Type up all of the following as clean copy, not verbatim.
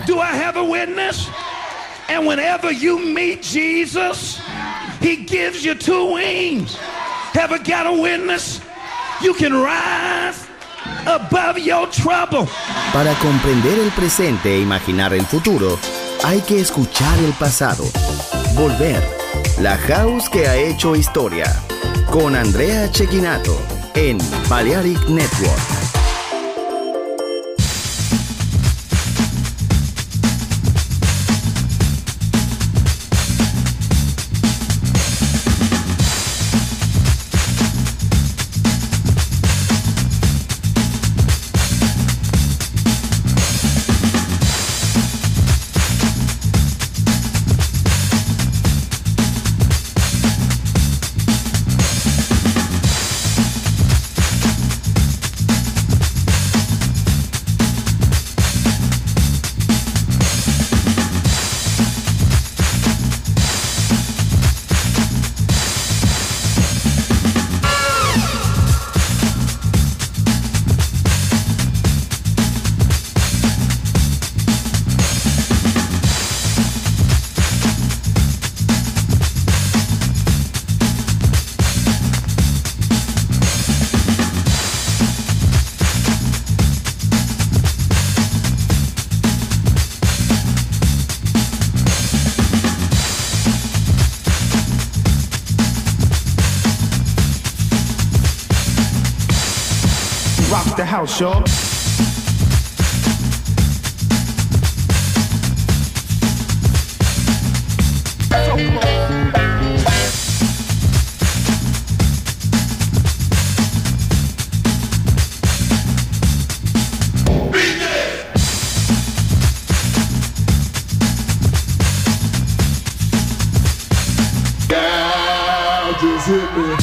Do I have a witness? And whenever you meet Jesus, he gives you two wings. Have I got a witness? You can rise above your trouble. Para comprender el presente e imaginar el futuro, hay que escuchar el pasado. Volver. La House que ha hecho historia. Con Andrea Cecchinato en Balearic Network. Rock the house, y'all. Just hit me.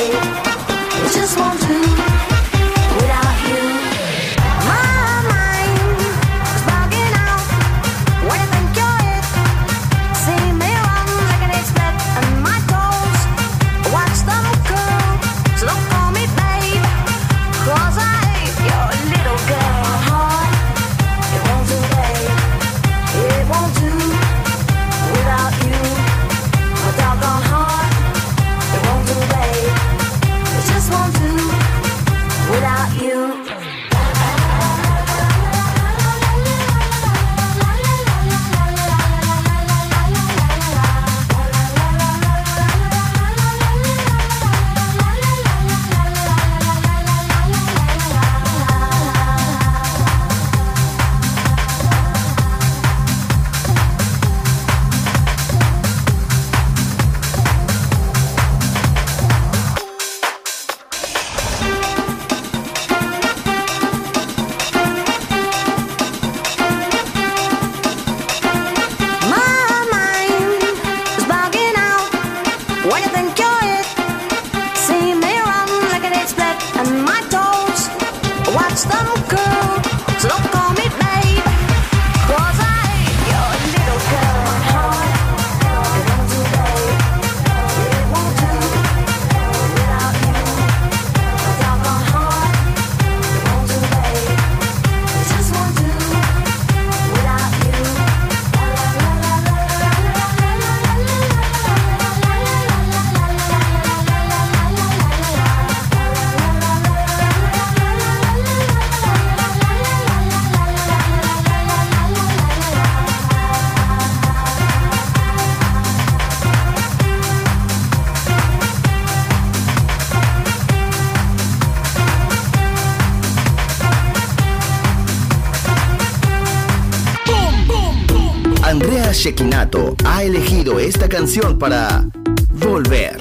Andrea Cecchinato ha elegido esta canción para Volver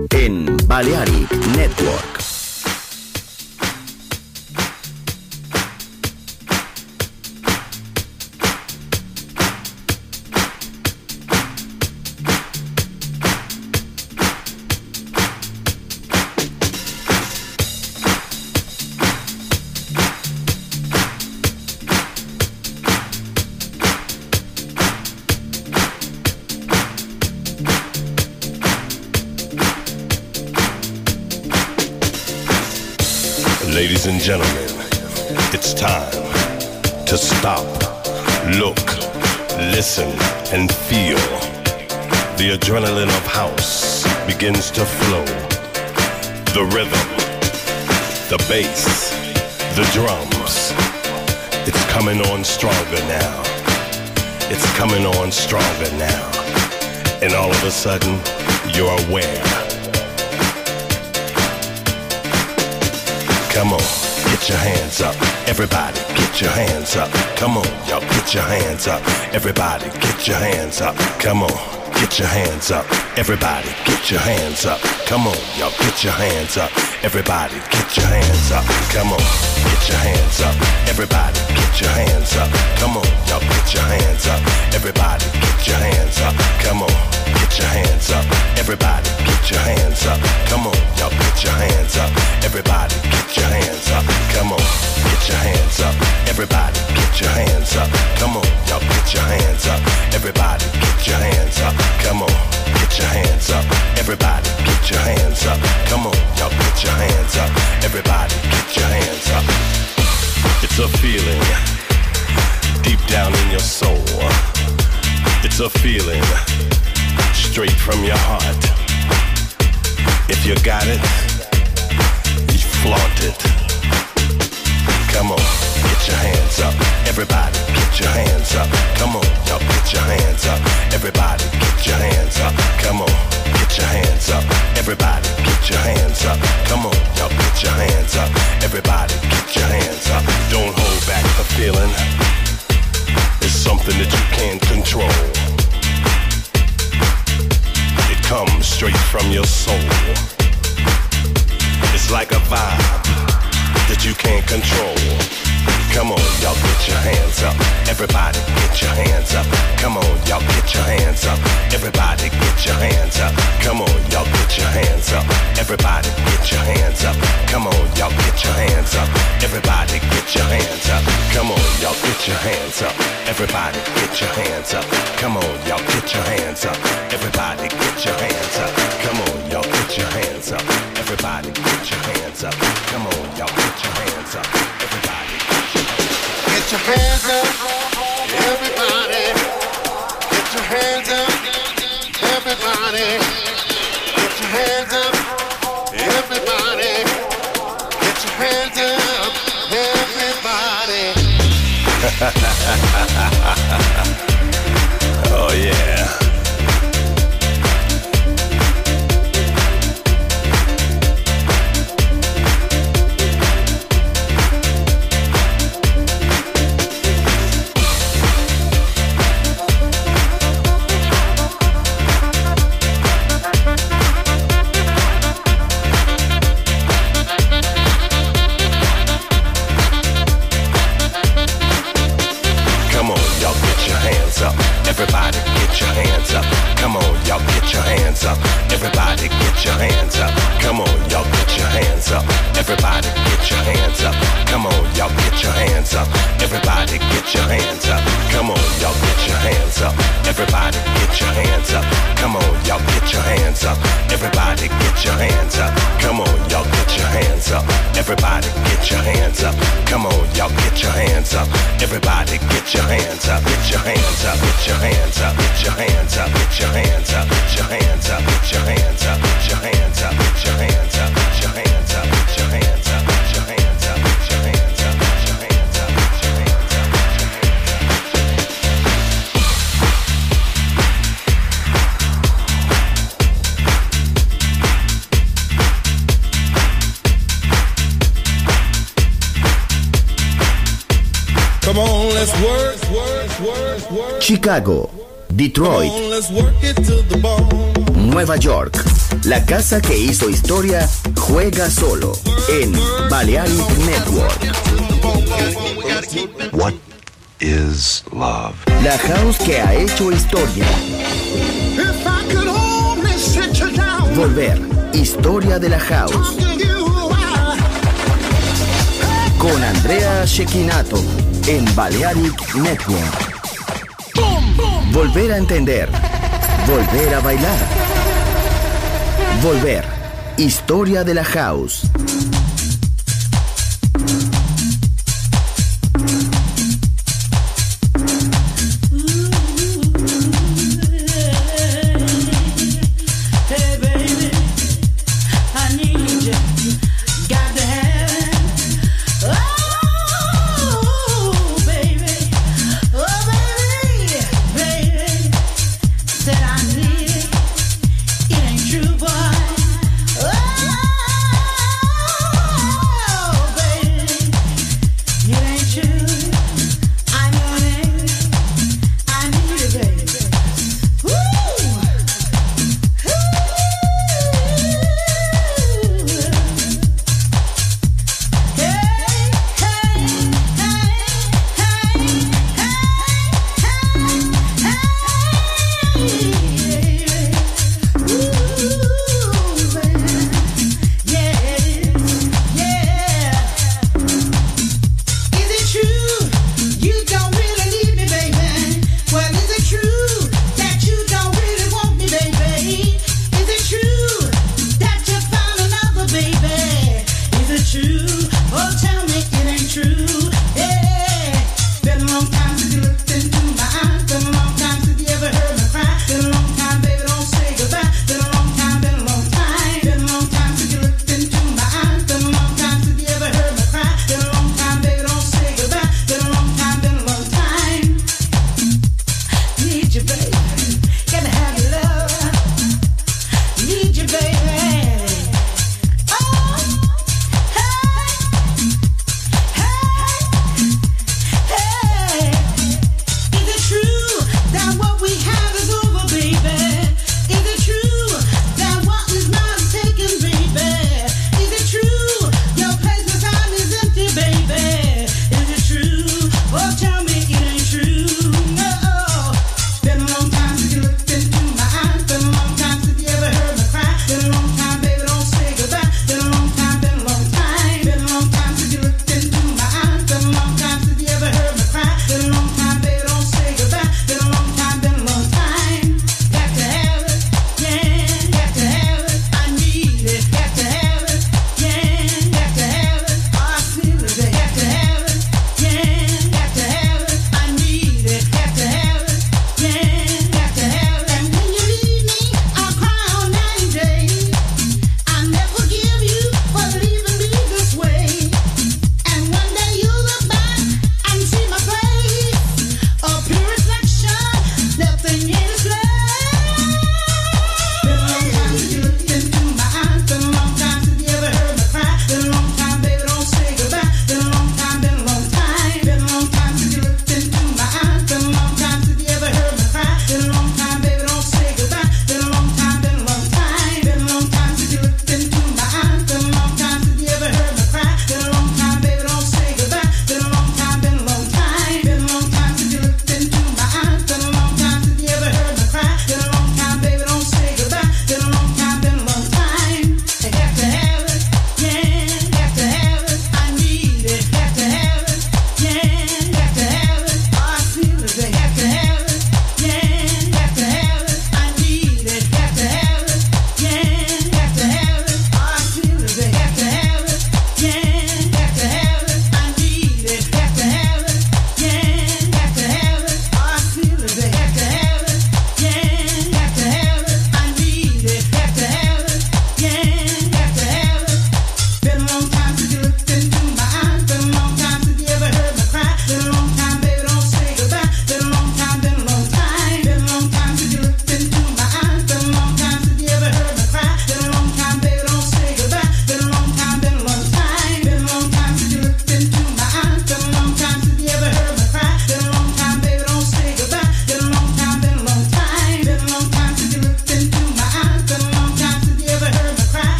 en Balearic Network. Ladies and gentlemen, it's time to stop, look, listen, and feel. The adrenaline of house begins to flow. The rhythm, the bass, the drums. It's coming on stronger now. It's coming on stronger now. And all of a sudden, you're aware. Come on, get your hands up. Everybody, get your hands up. Come on, y'all, get your hands up. Everybody, get your hands up. Come on, get your hands up. Everybody, get your hands up. Come on, y'all, get your hands up. Everybody, get your hands up. Come on, get your hands up. Everybody, get your hands up. Come on, y'all, get your hands up. Everybody, get your hands up. Come on, get your hands up. Everybody, get your hands up. Come on, y'all, get your hands up. Everybody, get your hands up. Come on, get your hands up. Everybody, get your hands up. Come on, y'all, get your hands up. Everybody, get your hands up. Come on, get your hands up. Everybody, get your hands up. Come on, y'all, get your hands up. Everybody, get your hands up. It's a feeling deep down in your soul. It's a feeling straight from your heart. If you got it, you flaunt it. Come on, get your hands up. Everybody, get your hands up. Come on, y'all, get your hands up. Everybody, get your hands up. Come on, get your hands up. Everybody, get your hands up. Come on, y'all, get your hands up. Everybody, get your hands up. Don't hold back the feeling. It's something that you can't control. It comes straight from your soul. It's like a vibe that you can't control. Come on, y'all, get your hands up. Everybody get your hands up. Come on, y'all get your hands up. Everybody get your hands up. Come on, y'all get your hands up. Everybody get your hands up. Come on, y'all get your hands up. Everybody get your hands up. Come on, y'all get your hands up. Everybody get your hands up. Come on, y'all get your hands up. Everybody get your hands up. Come on, y'all get your hands up. Everybody get your hands up. Come on, y'all get your hands up. Everybody get your hands up. Everybody get your hands up. Everybody get your hands up. Everybody get your hands up. Everybody. Oh yeah. Everybody get your hands up. Come on, y'all get your hands up. Everybody get your hands up. Come on, y'all get your hands up. Everybody get your hands up. Come on, y'all get your hands up. Everybody get your hands up. Come on, y'all get your hands up. Everybody get your hands up. Come on, y'all get your hands up. Everybody get your hands up. Come on, y'all get your hands up. Everybody get your hands up. Come on, y'all get your hands up. Everybody get your hands up. Get your hands up. Get your hands up. Get your hands up. Get your hands up. Get your hands up. Get your hands up. Get your hands up. Get your hands up. Get your hands up. Get your hands up. Get your hands up. Get your hands up. Get your hands up. Get your hands up. Come on, let's work. Chicago, Detroit, Come on, let's work it to the bone. Nueva York. La casa que hizo historia juega solo en Balearic Network. What is love? La house que ha hecho historia. Volver. Historia de la house. Con Andrea Cecchinato en Balearic Network. Volver a entender. Volver a bailar. Volver. Historia de la house.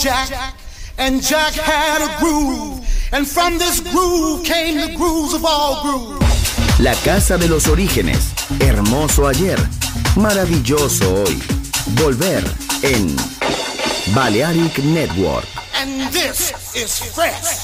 Jack, and Jack had a groove, and from this groove came the grooves of all grooves. La casa de los orígenes, hermoso ayer, maravilloso hoy. Volver en Balearic Network. And this is fresh.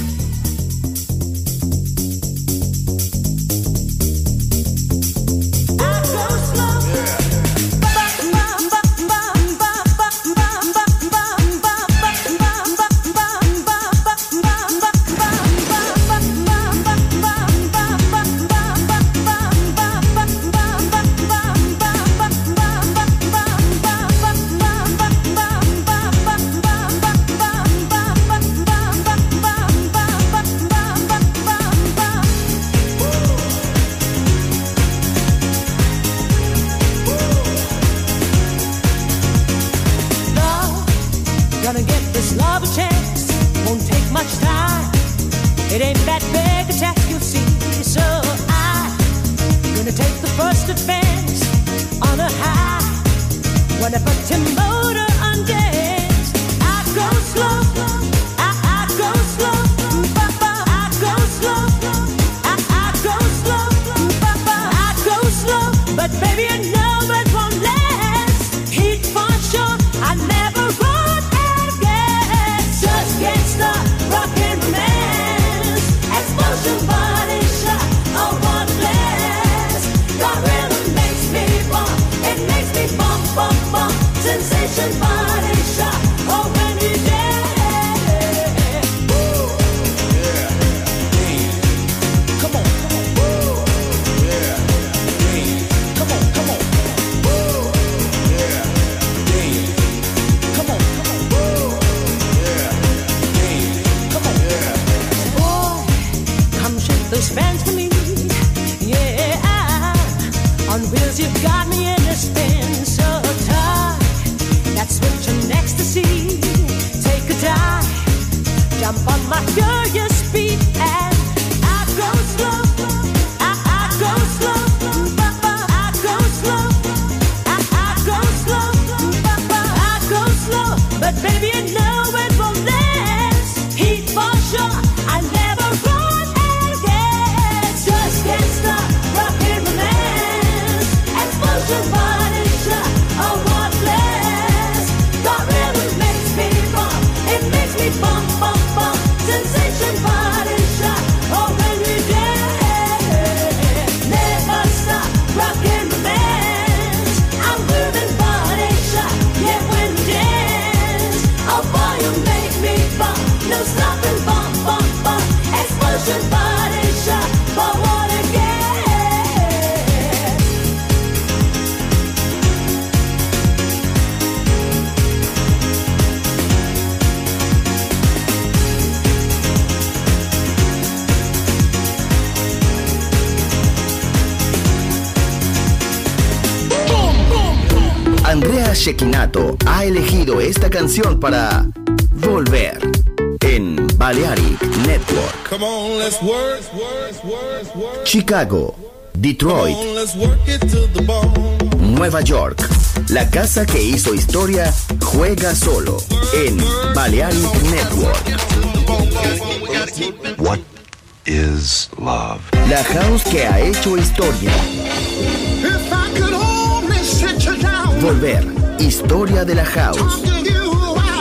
Andrea Cecchinato ha elegido esta canción para Volver en Balearic Network. Come on, let's work. Chicago, Detroit, Come on, let's work it to the bone. Nueva York. La casa que hizo historia juega solo en Balearic Network. What is love? La house que ha hecho historia. If I could only sit you down, Volver, historia de la house. talk to you,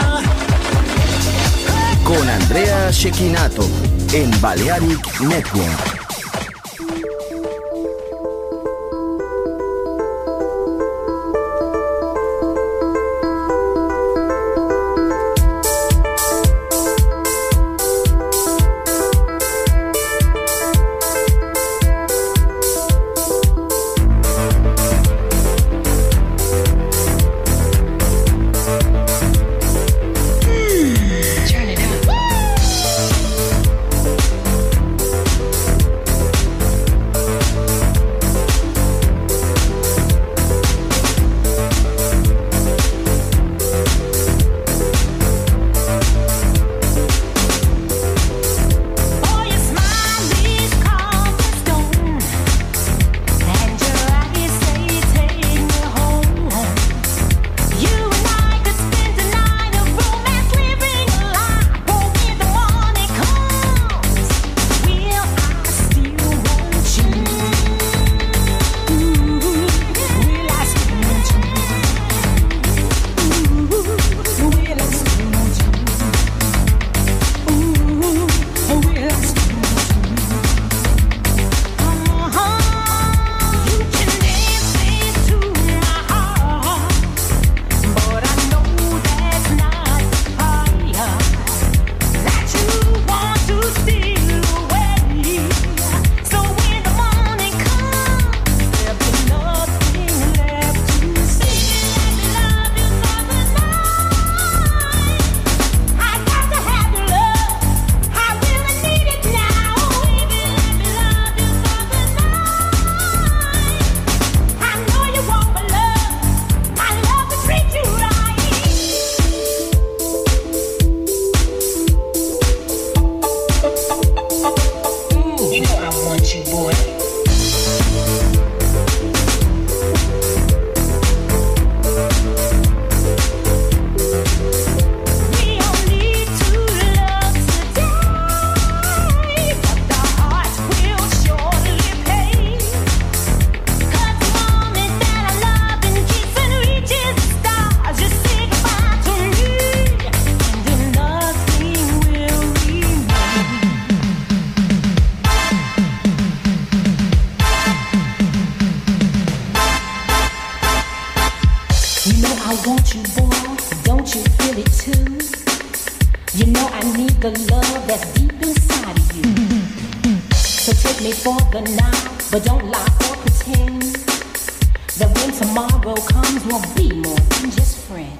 Con Andrea Cecchinato en Balearic Network. Turn it up. You know I want you, boy, don't you feel it too? You know I need the love that's deep inside of you. So take me for the night, but don't lie or pretend that when tomorrow comes we'll be more than just friends.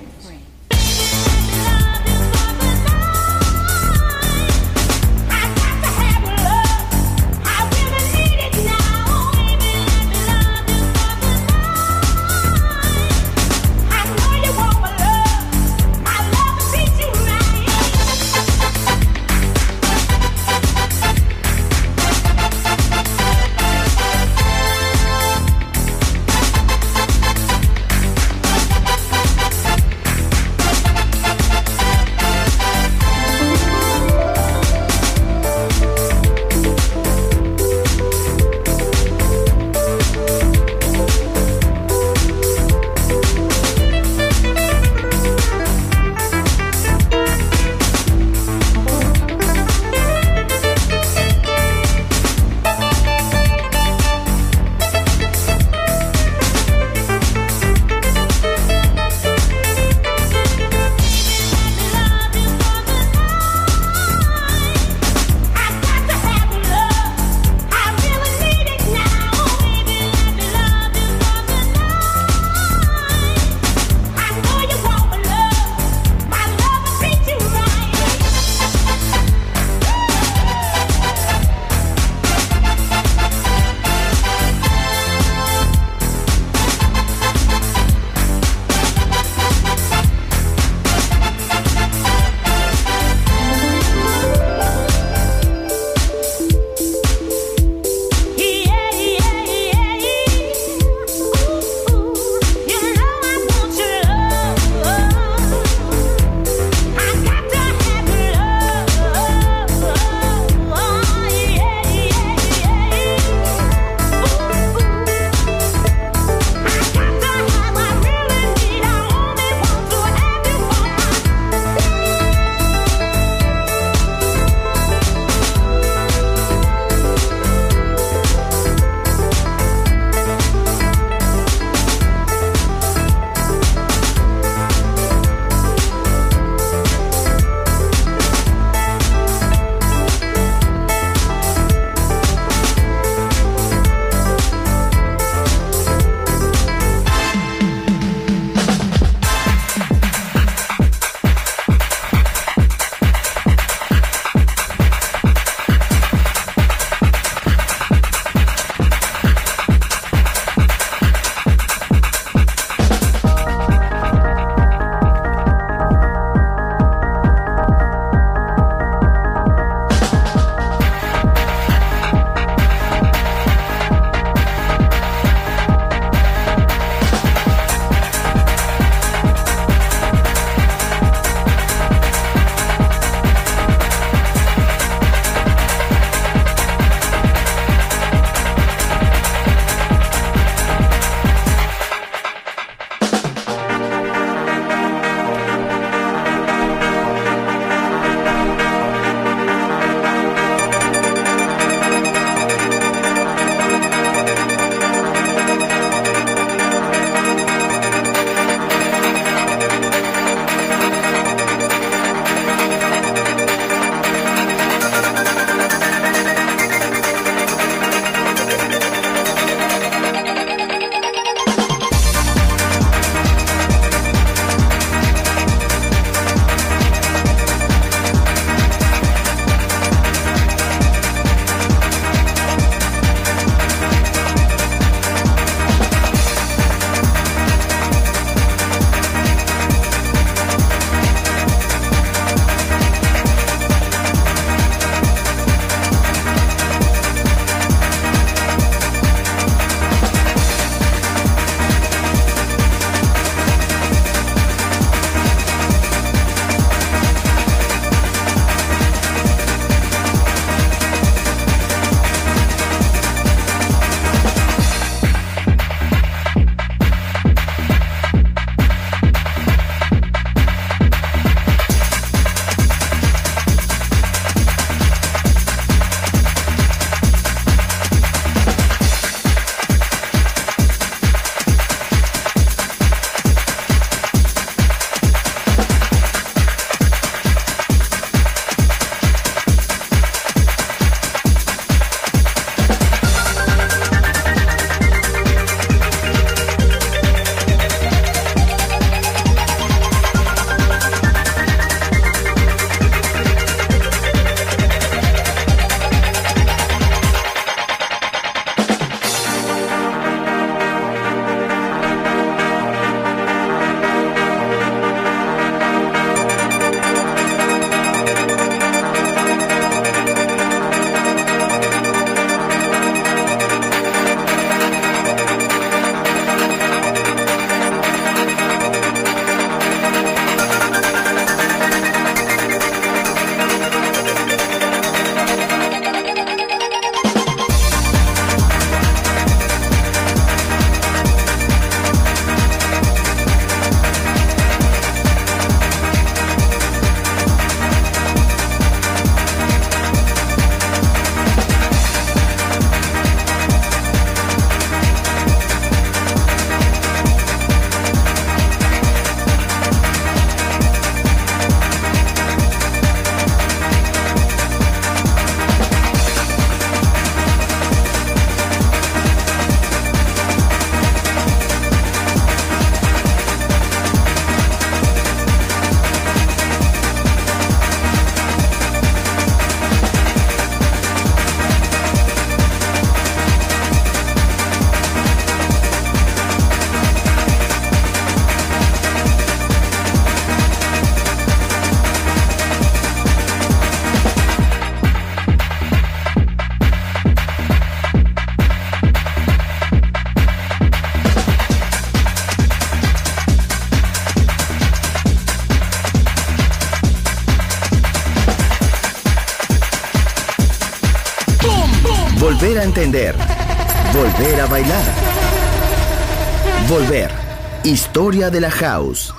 volver a entender, volver a bailar. Volver. Historia de la house.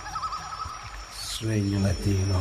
Sueño latino.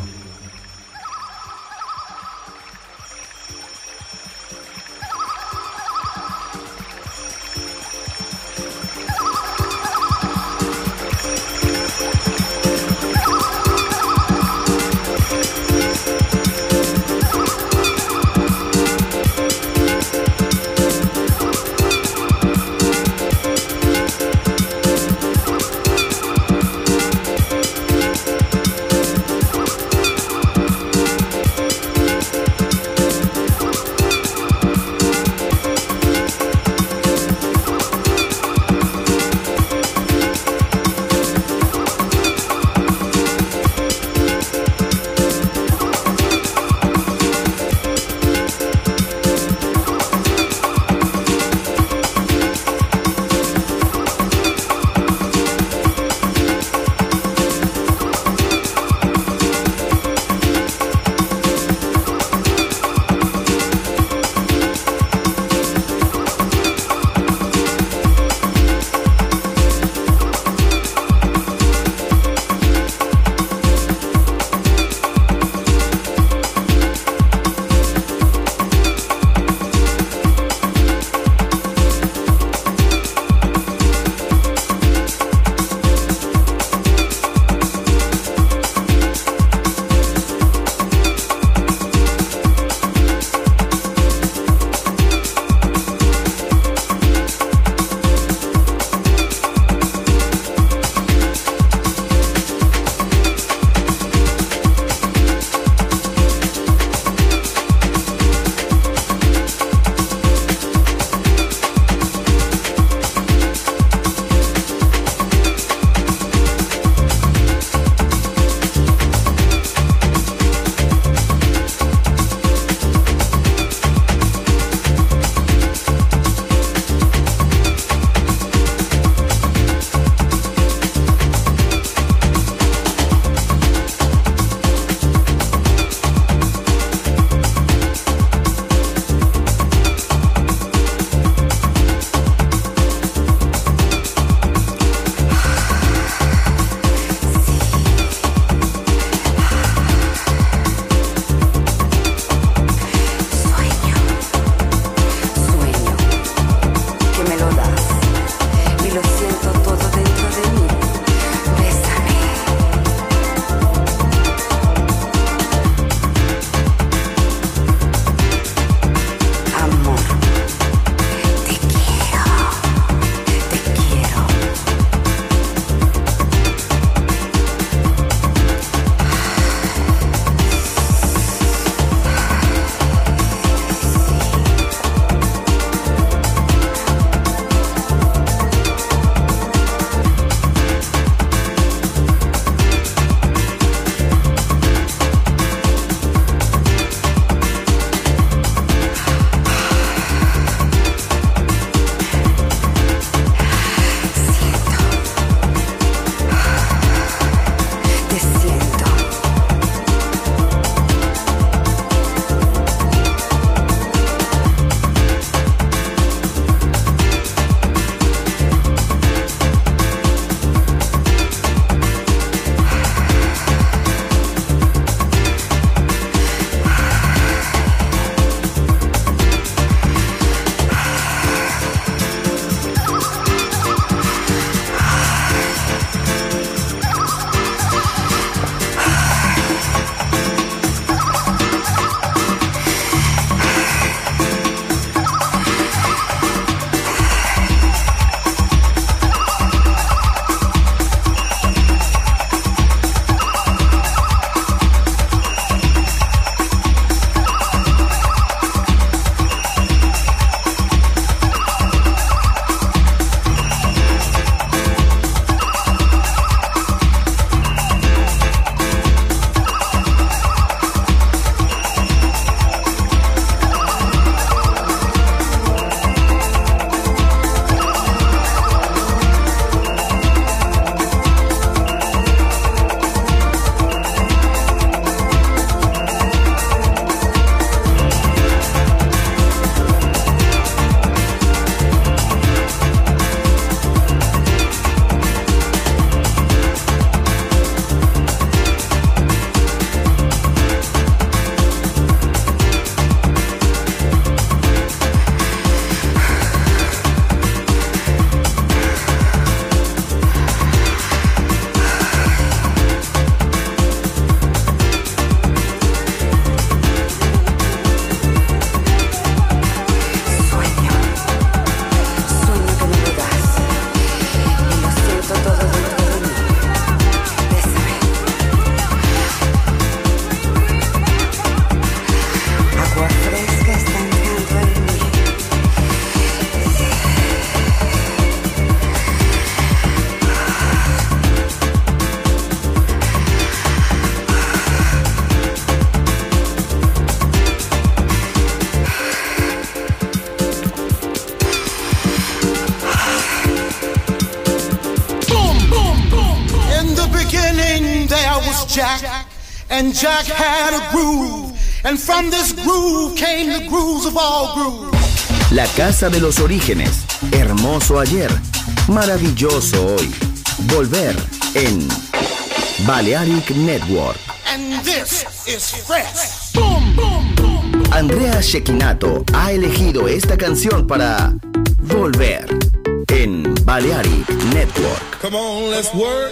beginning there was Jack, and Jack had a groove, and from this groove came the grooves of all grooves. La casa de los orígenes, hermoso ayer, maravilloso hoy. Volver en Balearic Network. And this is fresh. Boom, boom, boom. Andrea Cecchinato ha elegido esta canción para Volver en Balearic Network. Come on, let's work.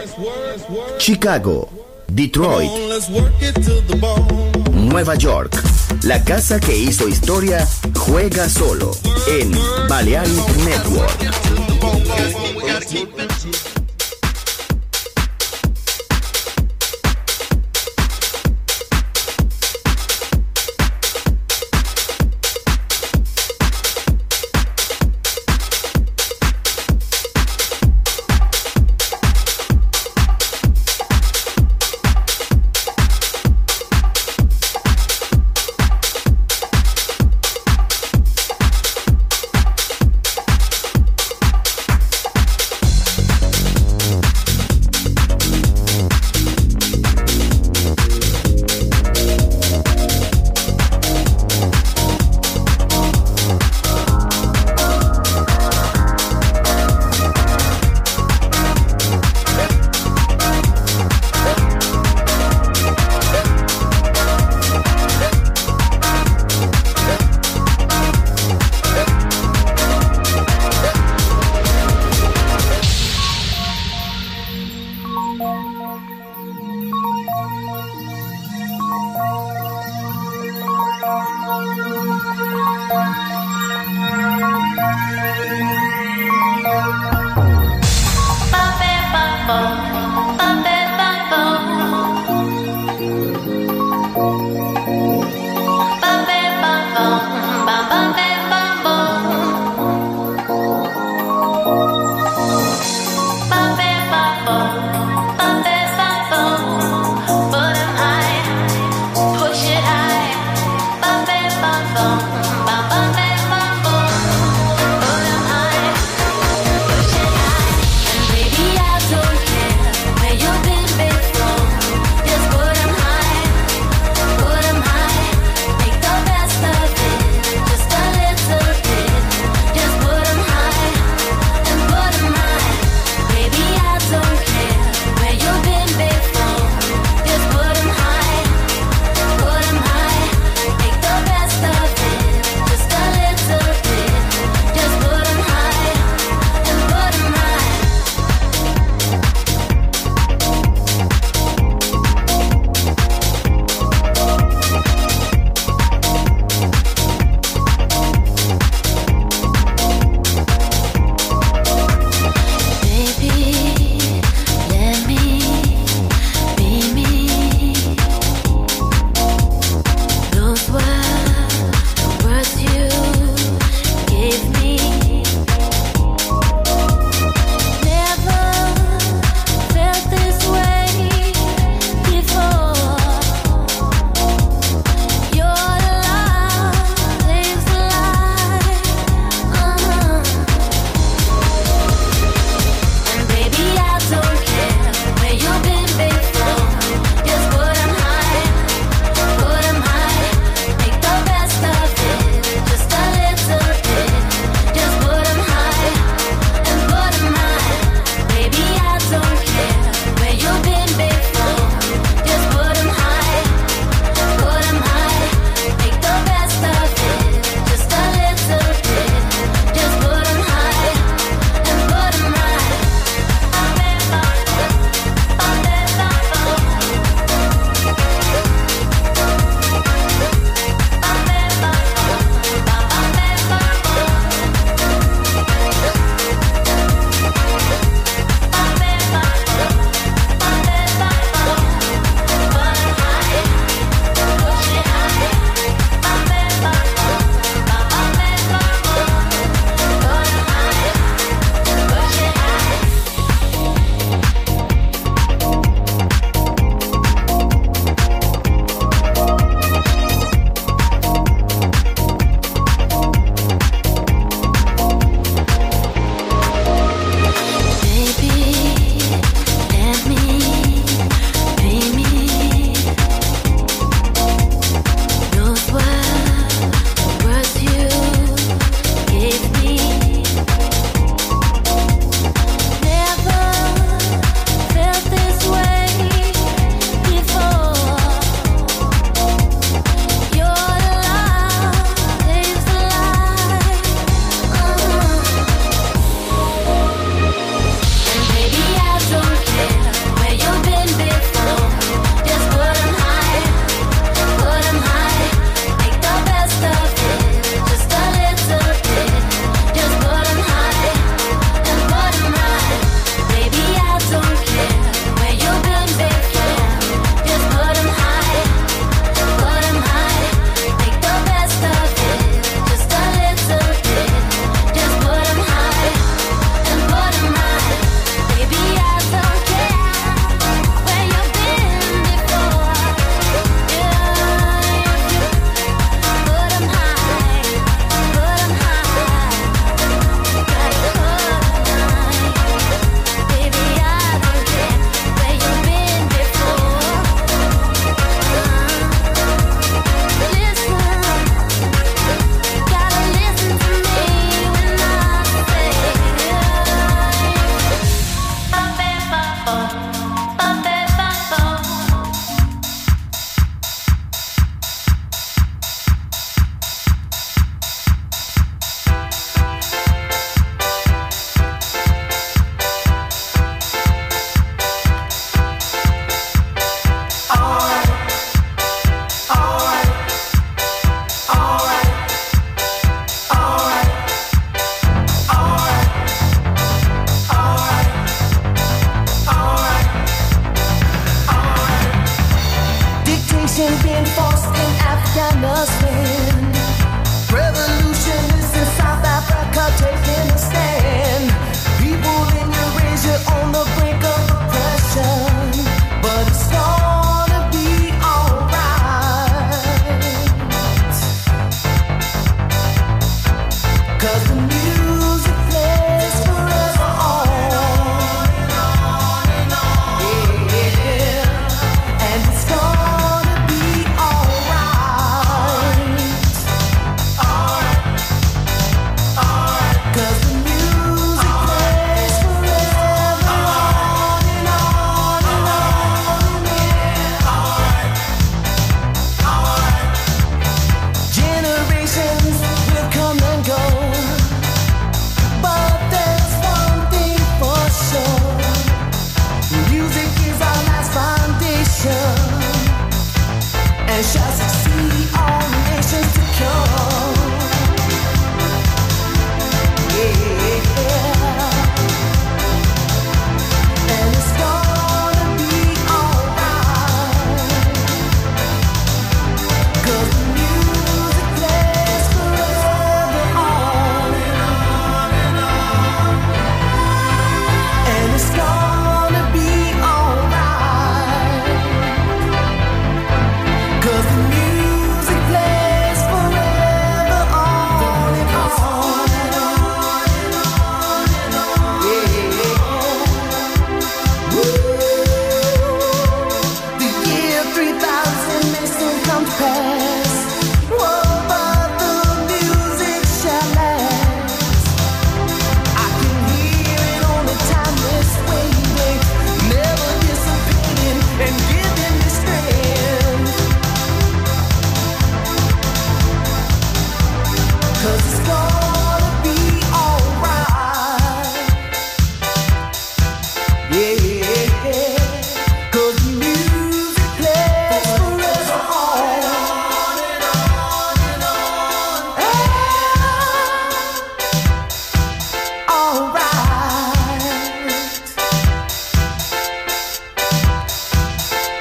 Chicago, Detroit, Come on, let's work it to the bone. Nueva York. La casa que hizo historia juega solo en Balearic Network. Baby, I don't care.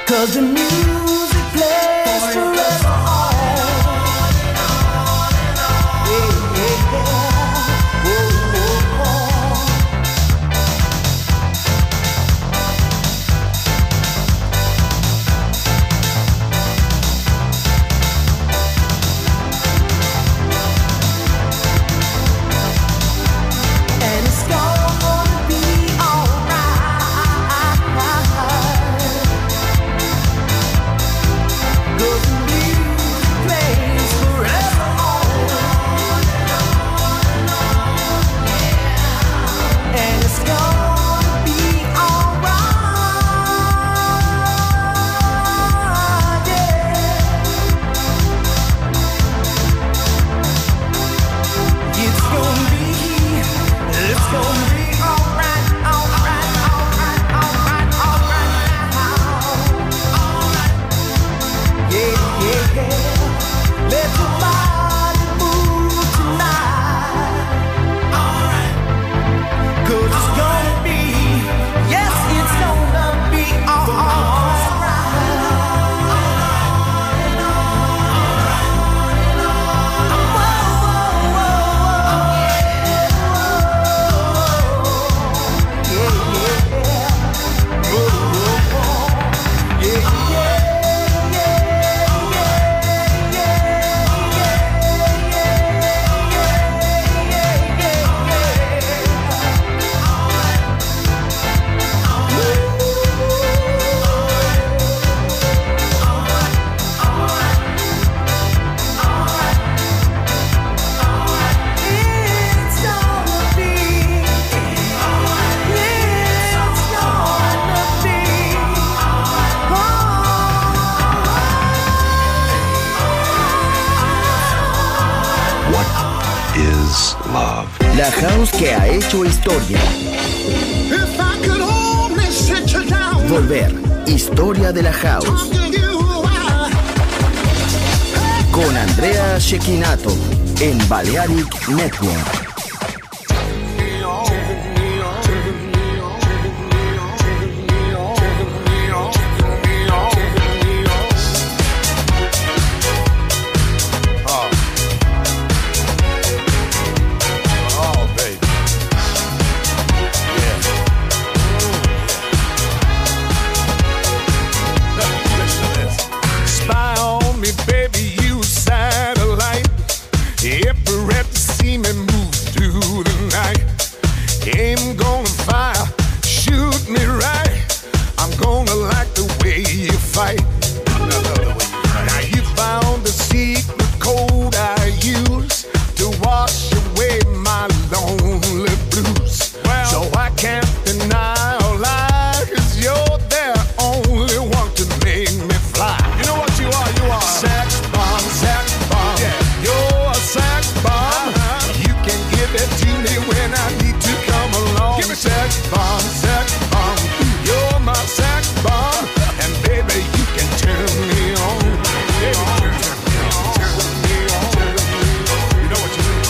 'cause the music plays forever on. Yeah, yeah, yeah. Oh, oh, oh. And it's gonna be alright, 'cause the music plays forever on. And it's gonna be alright, yeah. It's gonna be alright, alright, alright, alright, alright now. Yeah, yeah, yeah. Let your body move tonight. Alright. 'Cause it's gonna be, yes, it's gonna be alright. What is love? La house que ha hecho historia. If I could only sit you down, Volver. Historia de la house. talk to you while Con Andrea Cecchinato en Balearic Network. Spy on me, baby, you satellite. Every rep to see me move through the night. Aim gonna fire, shoot me right. I'm gonna like the way you fight. Now you found the secret code I use to wash away my lonely blues. So I can't deny or lie, 'cause you're the only one to make me fly. You know what you are? You are sex bomb, sex bomb. Yeah. You're a sex bomb. You can give it to me when I need to come along. Give me sex bomb, sex bomb. You're my sex bomb, and baby you can turn me on. Baby, turn me on, turn me on. You know what you do?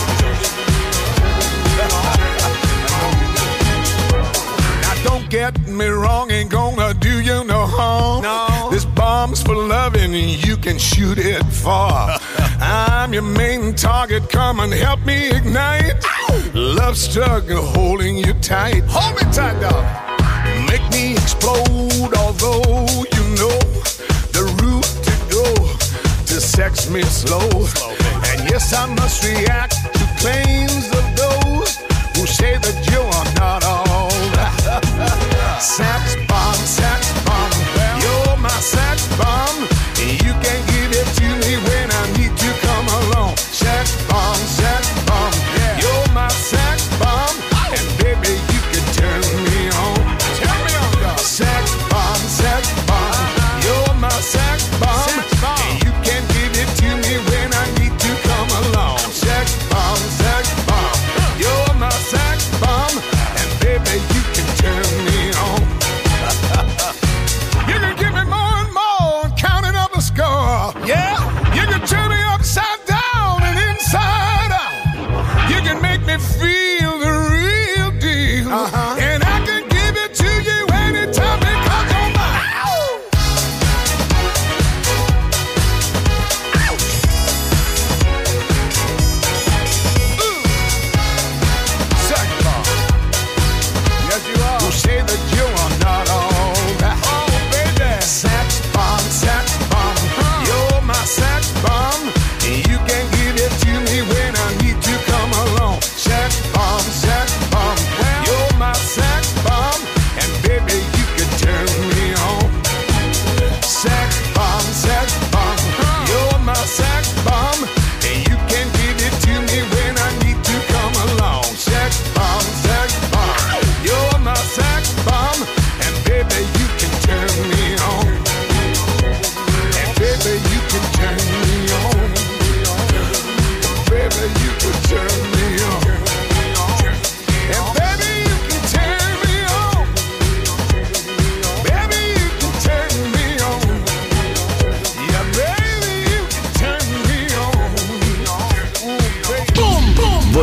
Now don't get me wrong, ain't gonna do you no harm. No. This bomb's for loving and you can shoot it far. I'm your main target, come and help me ignite. Love struggle holding you tight. Hold me tight, dog. Make me explode, although you know the route to go to sex me slow. And yes, I must react to claims of those who say that you are not all that. Sex bomb, you're my sex bomb. You can give it to me when I need to come along. Sex bomb, you're my sex bomb, and baby you can turn me on. Turn me on, dog. Sex bomb, you're my sex bomb, and you can give it to me when I need to come along. Sex bomb, you're my sex bomb, and baby you can turn me on.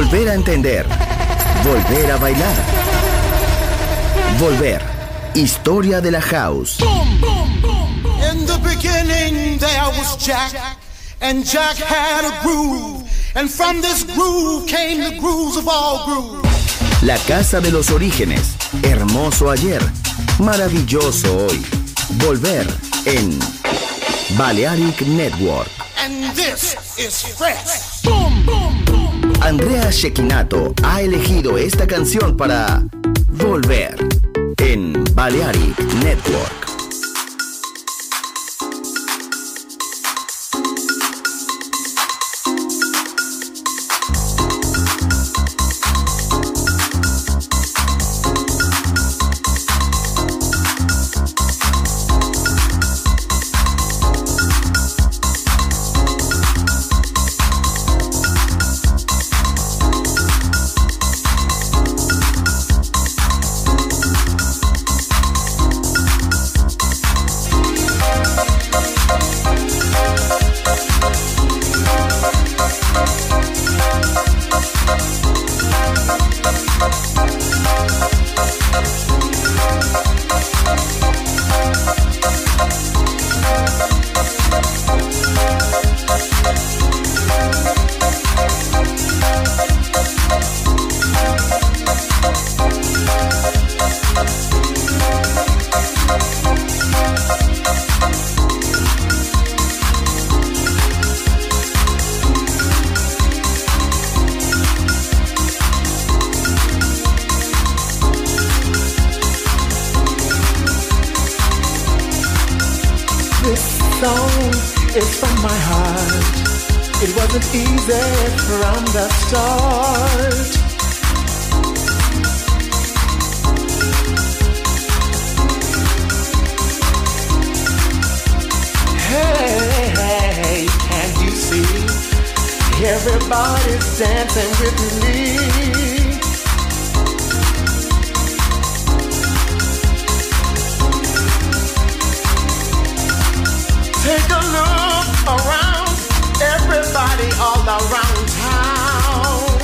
Volver a entender. Volver a bailar. Volver. Historia de la house. In the beginning there was Jack, and Jack had a groove, and from this groove came the grooves of all grooves. La casa de los orígenes. Hermoso ayer. Maravilloso hoy. Volver en Balearic Network. And this is fresh. Andrea Cecchinato ha elegido esta canción para Volver en Balearic Network. It's from my heart. It wasn't easy from the start. Hey, can't you see? Everybody's dancing with me. Take a look around, everybody all around town.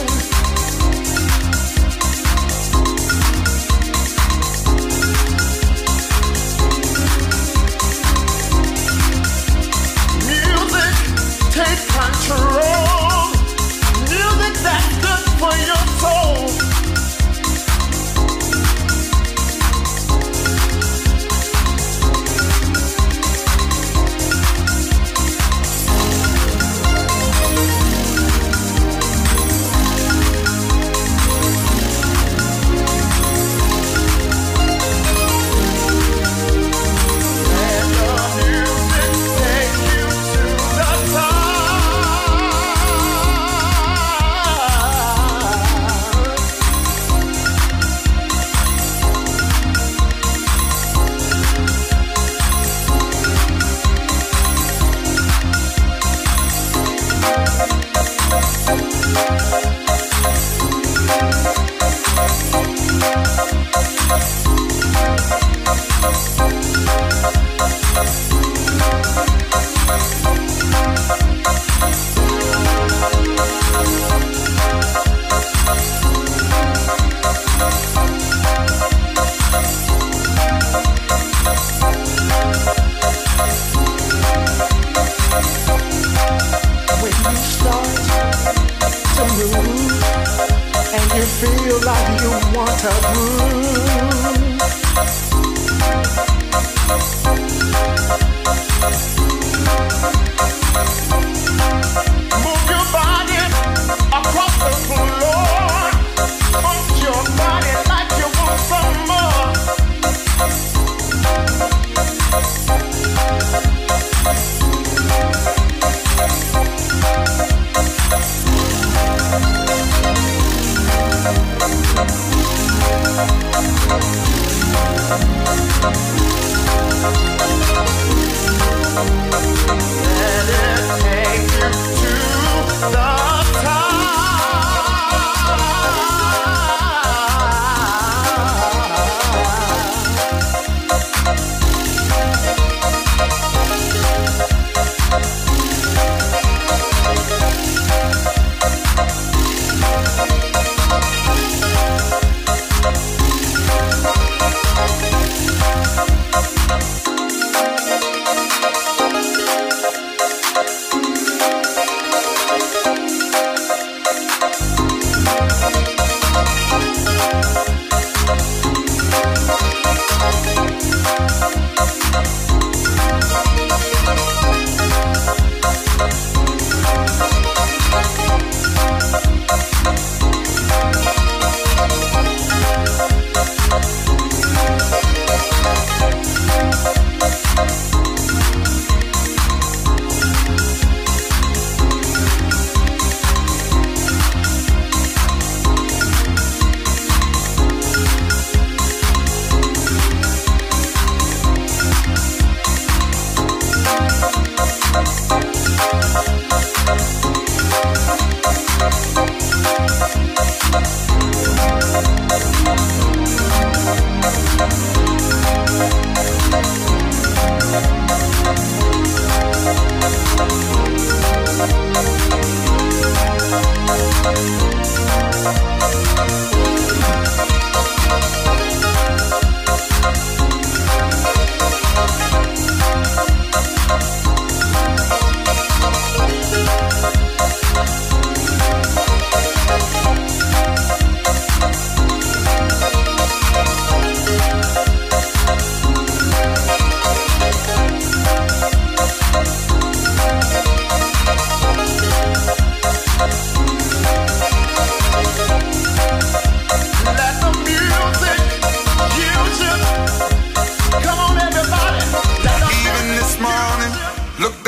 Music, take control. Music that's good for your soul.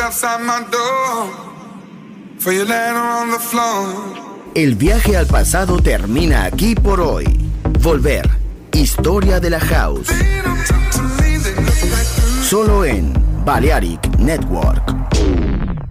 outside my door. For you laying on the floor. El viaje al pasado termina aquí por hoy. Volver. Historia de la House. Solo en Balearic Network.